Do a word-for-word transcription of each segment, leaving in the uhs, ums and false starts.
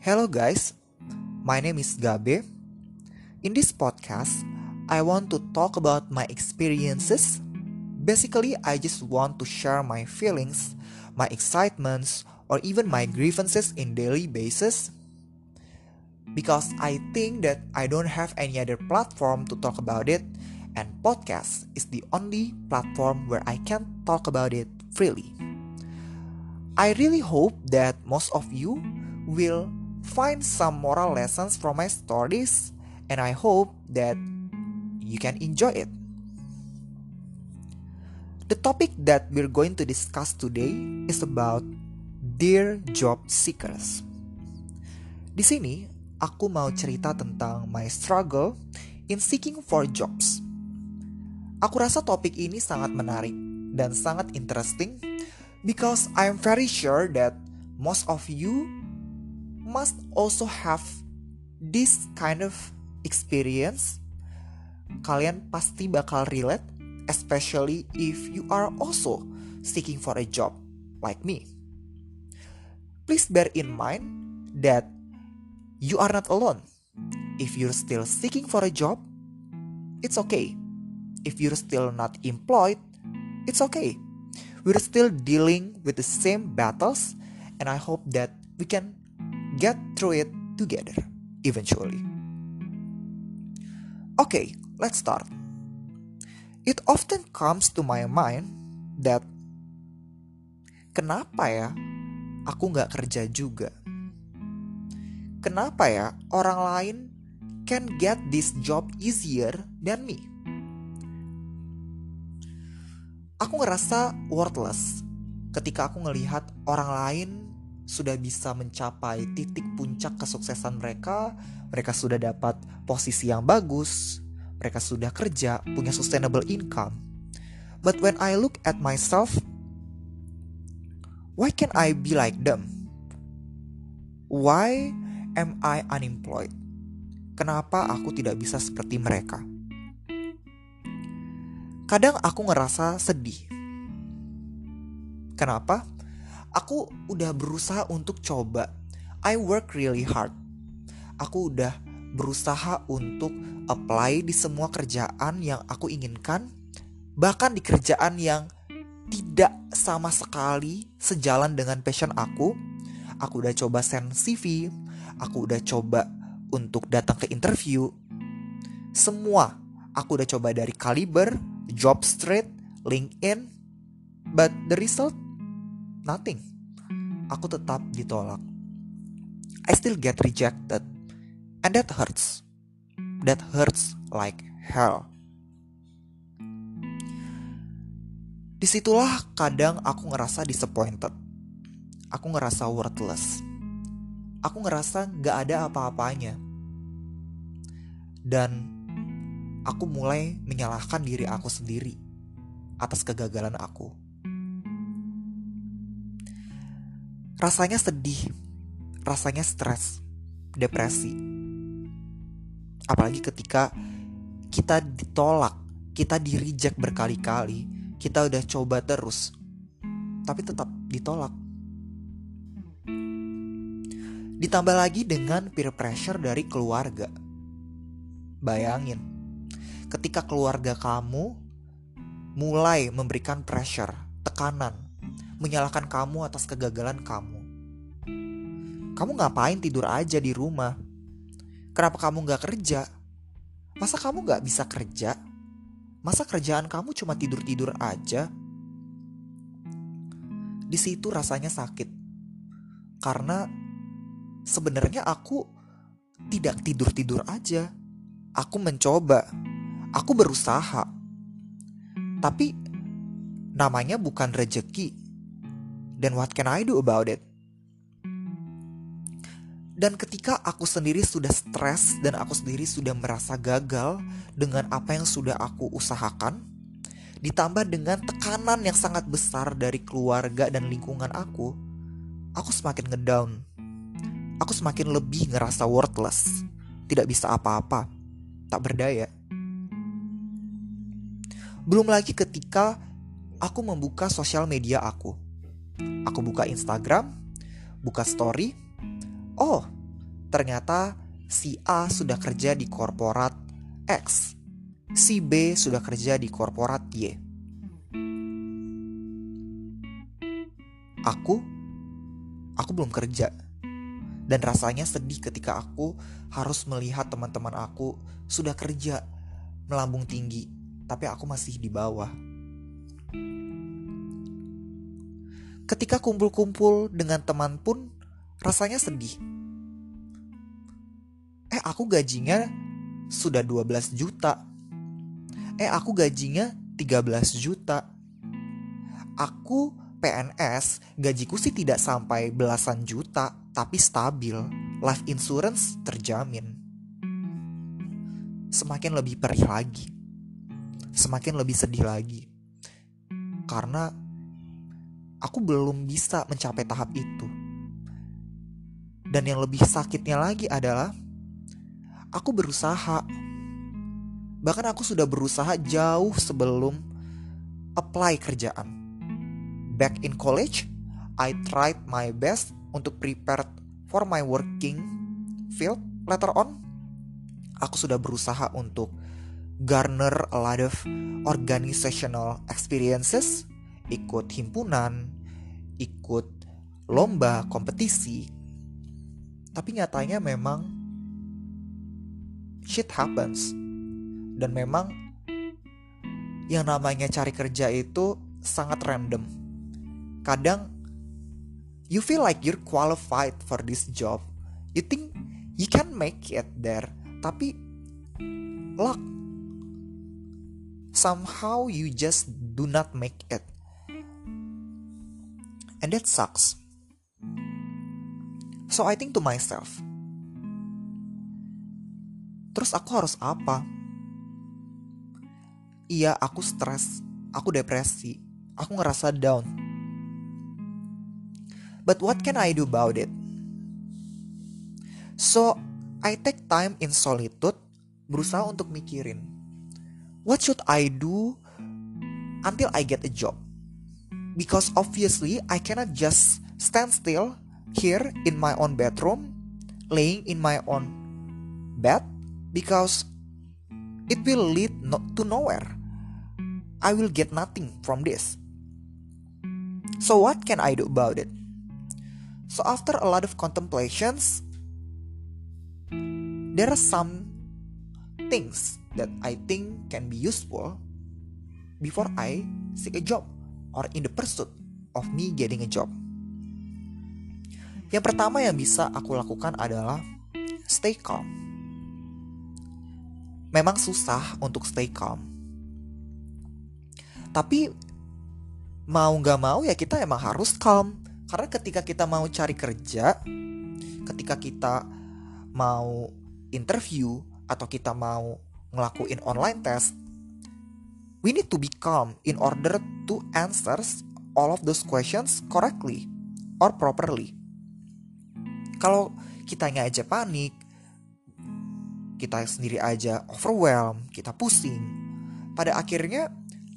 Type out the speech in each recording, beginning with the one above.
Hello guys, my name is Gabe. In this podcast, I want to talk about my experiences. Basically, I just want to share my feelings, my excitements, or even my grievances in daily basis. Because I think that I don't have any other platform to talk about it, and podcast is the only platform where I can talk about it freely. I really hope that most of you will find some moral lessons from my stories, and I hope that you can enjoy it. The topic that we're going to discuss today is about Dear Job Seekers. Di sini, aku mau cerita tentang my struggle in seeking for jobs. Aku rasa topik ini sangat menarik dan sangat interesting because I'm very sure that most of you must also have this kind of experience. Kalian pasti bakal relate, especially if you are also seeking for a job like me. Please bear in mind that you are not alone. If you're still seeking for a job, it's okay. If you're still not employed, it's okay. We're still dealing with the same battles, and I hope that we can get through it together eventually. Okay, let's start. It often comes to my mind that kenapa ya aku gak kerja juga? Kenapa ya orang lain can get this job easier than me? Aku ngerasa worthless ketika aku ngelihat orang lain sudah bisa mencapai titik puncak kesuksesan mereka. Mereka sudah dapat posisi yang bagus, mereka sudah kerja, punya sustainable income. But when I look at myself, why can't I be like them? Why am I unemployed? Kenapa aku tidak bisa seperti mereka? Kadang aku ngerasa sedih. Kenapa? Aku udah berusaha untuk coba. I work really hard. Aku udah berusaha untuk apply di semua kerjaan yang aku inginkan. Bahkan di kerjaan yang tidak sama sekali sejalan dengan passion aku. Aku udah coba send C V. Aku udah coba untuk datang ke interview. Semua aku udah coba dari Caliber, Jobstreet, LinkedIn. But the result, nothing. Aku tetap ditolak. I still get rejected. And that hurts. That hurts like hell. Disitulah kadang aku ngerasa disappointed. Aku ngerasa worthless. Aku ngerasa gak ada apa-apanya. Dan aku mulai menyalahkan diri aku sendiri atas kegagalan aku. Rasanya sedih, rasanya stres, depresi. Apalagi ketika kita ditolak, kita di-reject berkali-kali, kita udah coba terus, tapi tetap ditolak. Ditambah lagi dengan peer pressure dari keluarga. Bayangin, ketika keluarga kamu mulai memberikan pressure, tekanan, menyalahkan kamu atas kegagalan kamu. Kamu ngapain tidur aja di rumah? Kenapa kamu gak kerja? Masa kamu gak bisa kerja? Masa kerjaan kamu cuma tidur-tidur aja? Di situ rasanya sakit. Karena sebenarnya aku tidak tidur-tidur aja. Aku mencoba. Aku berusaha. Tapi namanya bukan rezeki. Then what can I do about it? Dan ketika aku sendiri sudah stres dan aku sendiri sudah merasa gagal dengan apa yang sudah aku usahakan, ditambah dengan tekanan yang sangat besar dari keluarga dan lingkungan aku, aku semakin ngedown. Aku semakin lebih ngerasa worthless, tidak bisa apa-apa, tak berdaya. Belum lagi ketika aku membuka sosial media aku. Aku buka Instagram, buka story. Oh, ternyata si A sudah kerja di korporat X, si B sudah kerja di korporat Y. Aku, aku belum kerja. Dan rasanya sedih ketika aku harus melihat teman-teman aku sudah kerja melambung tinggi, tapi aku masih di bawah. Ketika kumpul-kumpul dengan teman pun rasanya sedih. Eh, aku gajinya sudah dua belas juta. Eh, aku gajinya tiga belas juta. Aku P N S, gajiku sih tidak sampai belasan juta, tapi stabil. Life insurance terjamin. Semakin lebih perih lagi. Semakin lebih sedih lagi. Karena aku belum bisa mencapai tahap itu. Dan yang lebih sakitnya lagi adalah aku berusaha. Bahkan aku sudah berusaha jauh sebelum apply kerjaan. Back in college, I tried my best untuk prepare for my working field. Later on, aku sudah berusaha untuk garner a lot of organizational experiences, ikut himpunan, ikut lomba, kompetisi. Tapi nyatanya memang shit happens. Dan memang yang namanya cari kerja itu sangat random. Kadang you feel like you're qualified for this job. You think you can make it there. Tapi luck, somehow you just do not make it. And that sucks. So I think to myself, terus aku harus apa? Iya, aku stres, aku depresi, aku ngerasa down. But what can I do about it? So, I take time in solitude, berusaha untuk mikirin, what should I do until I get a job? Because obviously, I cannot just stand still here in my own bedroom, laying in my own bed, because it will lead no- to nowhere. I will get nothing from this. So what can I do about it? So after a lot of contemplations, there are some things that I think can be useful before I seek a job or in the pursuit of me getting a job. Yang pertama yang bisa aku lakukan adalah stay calm. Memang susah untuk stay calm. Tapi mau gak mau ya kita emang harus calm. Karena ketika kita mau cari kerja, ketika kita mau interview, atau kita mau ngelakuin online test, we need to be calm in order to answer all of those questions correctly or properly. Kalau kitanya aja panik, kita sendiri aja overwhelmed, kita pusing, pada akhirnya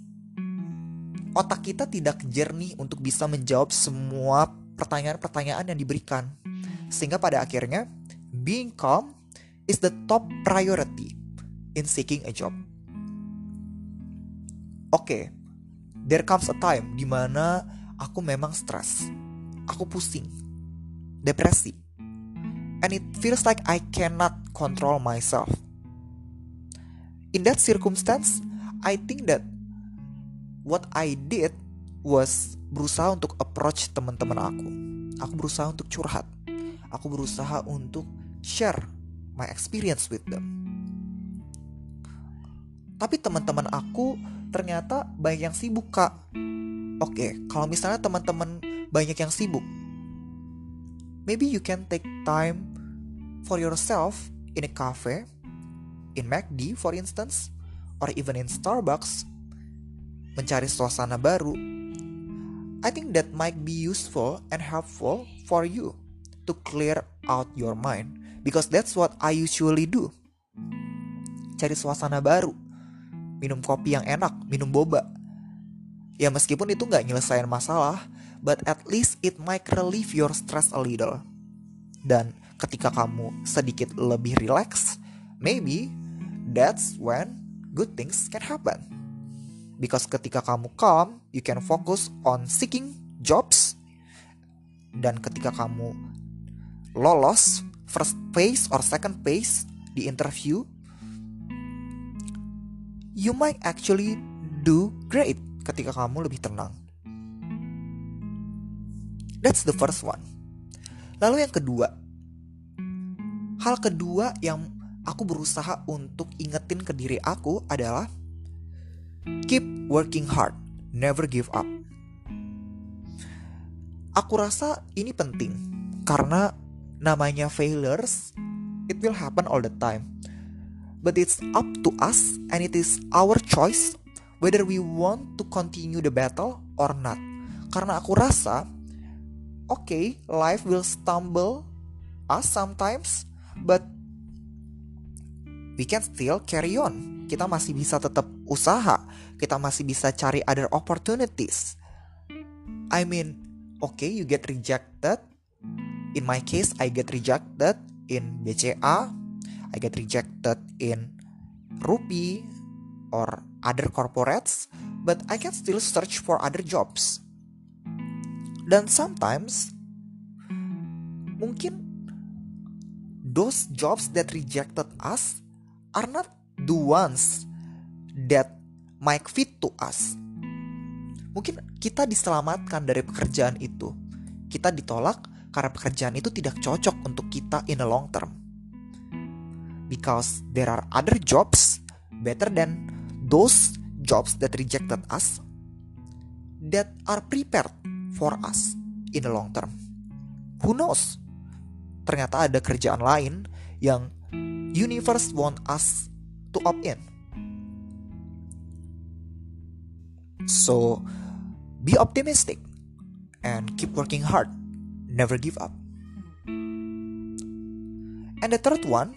otak kita tidak jernih untuk bisa menjawab semua pertanyaan-pertanyaan yang diberikan. Sehingga pada akhirnya, being calm is the top priority in seeking a job. Oke, okay, there comes a time di mana aku memang stres, aku pusing, depresi, and it feels like I cannot control myself. In that circumstance, I think that what I did was berusaha untuk approach teman-teman aku. Aku berusaha untuk curhat. Aku berusaha untuk share my experience with them. Tapi teman-teman aku ternyata banyak yang sibuk, Kak. Oke, kalau misalnya teman-teman banyak yang sibuk, maybe you can take time for yourself in a cafe, in McD for instance, or even in Starbucks, mencari suasana baru. I think that might be useful and helpful for you to clear out your mind, because that's what I usually do. Cari suasana baru, minum kopi yang enak, minum boba. Ya meskipun itu gak nyelesain masalah, but at least it might relieve your stress a little. Dan ketika kamu sedikit lebih relax, maybe that's when good things can happen. Because ketika kamu calm, you can focus on seeking jobs. Dan ketika kamu lolos first phase or second phase di interview, you might actually do great ketika kamu lebih tenang. That's the first one. Lalu yang kedua, hal kedua yang aku berusaha untuk ingetin ke diri aku adalah keep working hard, never give up. Aku rasa ini penting karena namanya failures, it will happen all the time. But it's up to us and it is our choice whether we want to continue the battle or not. Karena aku rasa, okay, life will stumble us sometimes, but we can still carry on. Kita masih bisa tetap usaha, kita masih bisa cari other opportunities. I mean, okay, you get rejected. In my case, I get rejected in B C A, I get rejected in Rupi or other corporates, but I can still search for other jobs. Dan sometimes mungkin those jobs that rejected us are not the ones that might fit to us. Mungkin kita diselamatkan dari pekerjaan itu. Kita ditolak karena pekerjaan itu tidak cocok untuk kita in the long term. Because there are other jobs better than those jobs that rejected us that are prepared for us in the long term. Who knows? Ternyata ada kerjaan lain yang universe want us to opt in. So, be optimistic and keep working hard. Never give up. And the third one,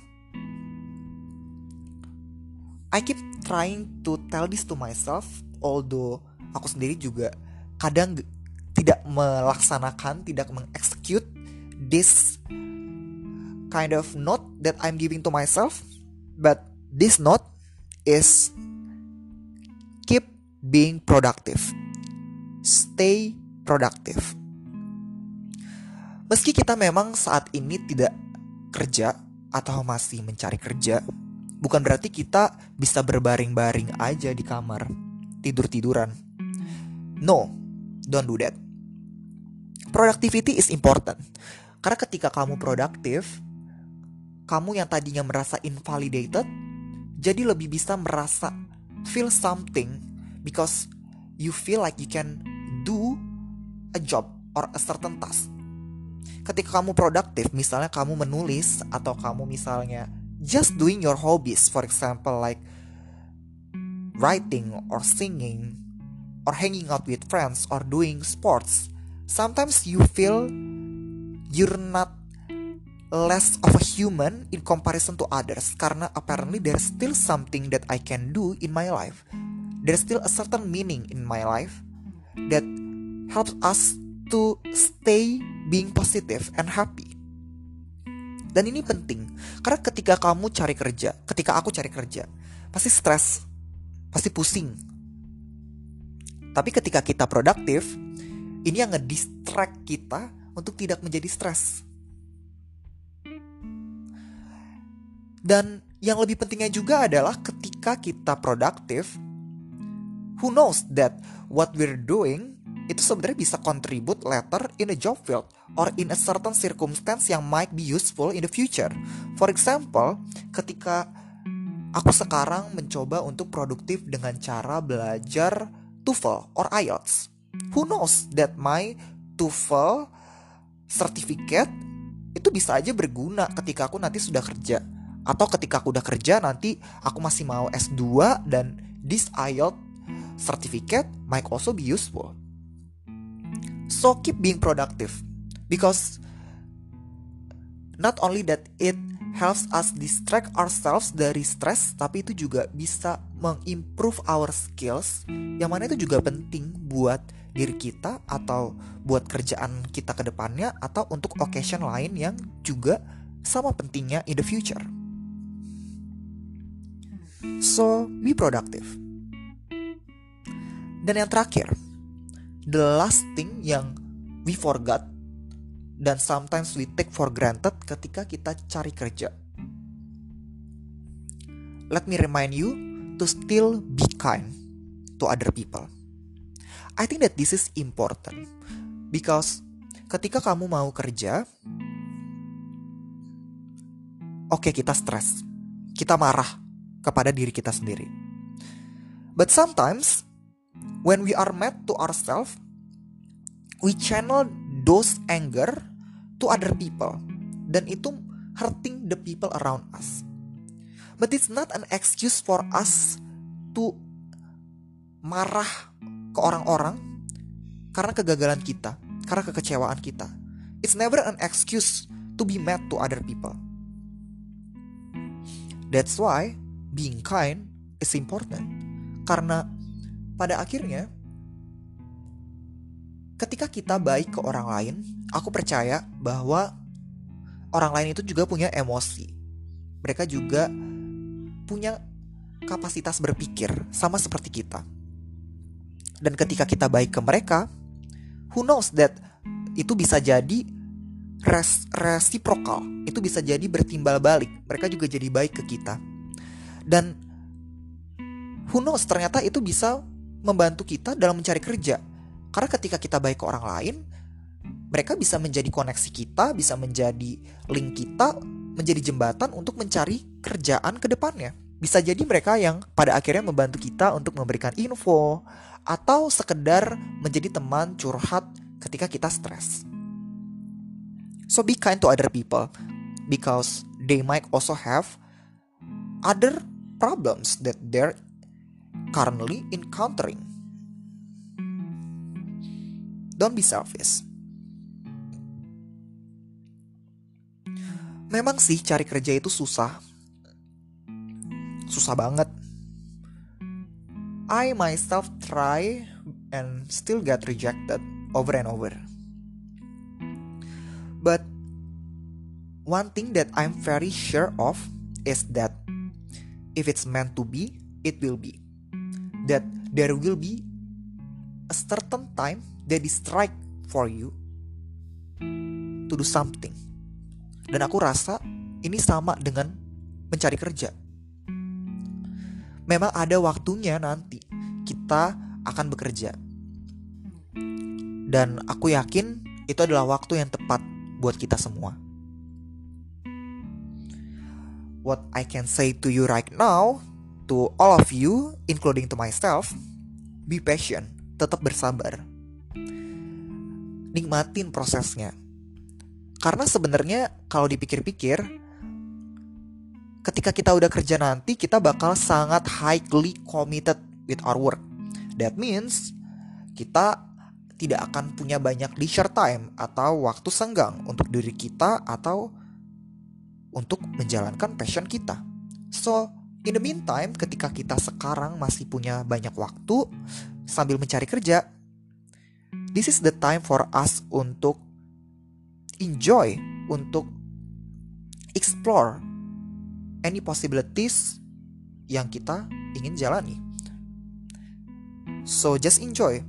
I keep trying to tell this to myself, although aku sendiri juga kadang tidak melaksanakan, tidak mengexecute this kind of note that I'm giving to myself. But this note is keep being productive. Stay productive. Meski kita memang saat ini tidak kerja atau masih mencari kerja, bukan berarti kita bisa berbaring-baring aja di kamar, tidur-tiduran. No, don't do that. Productivity is important. Karena ketika kamu produktif, kamu yang tadinya merasa invalidated, jadi lebih bisa merasa feel something because you feel like you can do a job or a certain task. Ketika kamu produktif, misalnya kamu menulis atau kamu misalnya just doing your hobbies, for example like writing or singing or hanging out with friends or doing sports, sometimes you feel you're not less of a human in comparison to others karena apparently there's still something that I can do in my life. There's still a certain meaning in my life that helps us to stay being positive and happy. Dan ini penting karena ketika kamu cari kerja, ketika aku cari kerja, pasti stres, pasti pusing. Tapi ketika kita produktif, ini yang nge-distract kita untuk tidak menjadi stres. Dan yang lebih pentingnya juga adalah ketika kita produktif, who knows that what we're doing itu sebenarnya bisa contribute later in a job field or in a certain circumstance yang might be useful in the future. For example, ketika aku sekarang mencoba untuk produktif dengan cara belajar TOEFL or I E L T S, who knows that my TOEFL certificate itu bisa aja berguna ketika aku nanti sudah kerja. Atau ketika aku udah kerja nanti aku masih mau S dua dan this I E L T S certificate might also be useful. So keep being productive because not only that it helps us distract ourselves dari stress, tapi itu juga bisa mengimprove our skills, yang mana itu juga penting buat diri kita atau buat kerjaan kita ke depannya atau untuk occasion lain yang juga sama pentingnya in the future. So, be productive. Dan yang terakhir, the last thing yang we forgot dan sometimes we take for granted ketika kita cari kerja. Let me remind you to still be kind to other people. I think that this is important because ketika kamu mau kerja, oke okay, kita stres, kita marah kepada diri kita sendiri. But sometimes when we are mad to ourselves, we channel those anger to other people, dan itu hurting the people around us. But it's not an excuse for us to marah ke orang-orang karena kegagalan kita, karena kekecewaan kita. It's never an excuse to be mad to other people. That's why being kind is important. Karena pada akhirnya ketika kita baik ke orang lain, aku percaya bahwa orang lain itu juga punya emosi. Mereka juga punya kapasitas berpikir sama seperti kita. Dan ketika kita baik ke mereka, who knows that itu bisa jadi res- reciprocal. Itu bisa jadi bertimbal balik. Mereka juga jadi baik ke kita. Dan who knows, ternyata itu bisa membantu kita dalam mencari kerja. Karena ketika kita baik ke orang lain, mereka bisa menjadi koneksi kita, bisa menjadi link kita, menjadi jembatan untuk mencari kerjaan ke depannya. Bisa jadi mereka yang pada akhirnya membantu kita untuk memberikan info, atau sekedar menjadi teman curhat ketika kita stres. So be kind to other people, because they might also have other problems that they're currently encountering. Don't be selfish. Memang sih cari kerja itu susah. Susah banget. I myself try and still get rejected over and over. But one thing that I'm very sure of is that if it's meant to be, it will be. That there will be a certain time that is right for you to do something. Dan aku rasa ini sama dengan mencari kerja. Memang ada waktunya nanti kita akan bekerja. Dan aku yakin itu adalah waktu yang tepat buat kita semua. What I can say to you right now, to all of you, including to myself, be patient, tetap bersabar. Nikmatin prosesnya. Karena sebenarnya kalau dipikir-pikir, ketika kita udah kerja nanti, kita bakal sangat highly committed with our work. That means kita tidak akan punya banyak leisure time atau waktu senggang untuk diri kita atau untuk menjalankan passion kita. So, in the meantime, ketika kita sekarang masih punya banyak waktu sambil mencari kerja, this is the time for us untuk enjoy, untuk explore any possibilities yang kita ingin jalani. So just enjoy.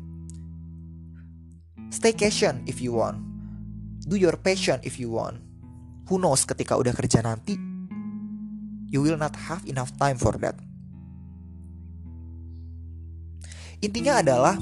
Staycation if you want. Do your passion if you want. Who knows, ketika udah kerja nanti, you will not have enough time for that. Intinya adalah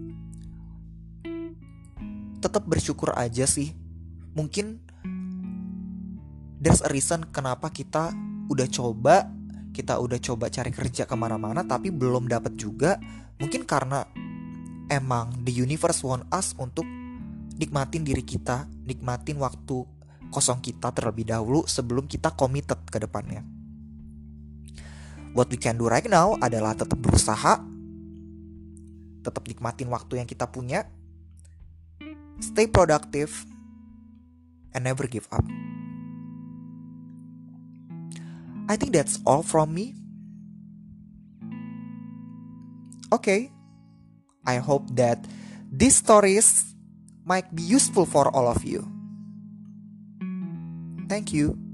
tetap bersyukur aja sih. Mungkin there's a reason kenapa kita udah coba, kita udah coba cari kerja kemana-mana tapi belum dapat juga. Mungkin karena emang the universe want us untuk nikmatin diri kita, nikmatin waktu kosong kita terlebih dahulu sebelum kita committed ke depannya. What we can do right now adalah tetap berusaha, tetap nikmatin waktu yang kita punya, stay productive, and never give up. I think that's all from me. Okay, I hope that these stories might be useful for all of you. Thank you.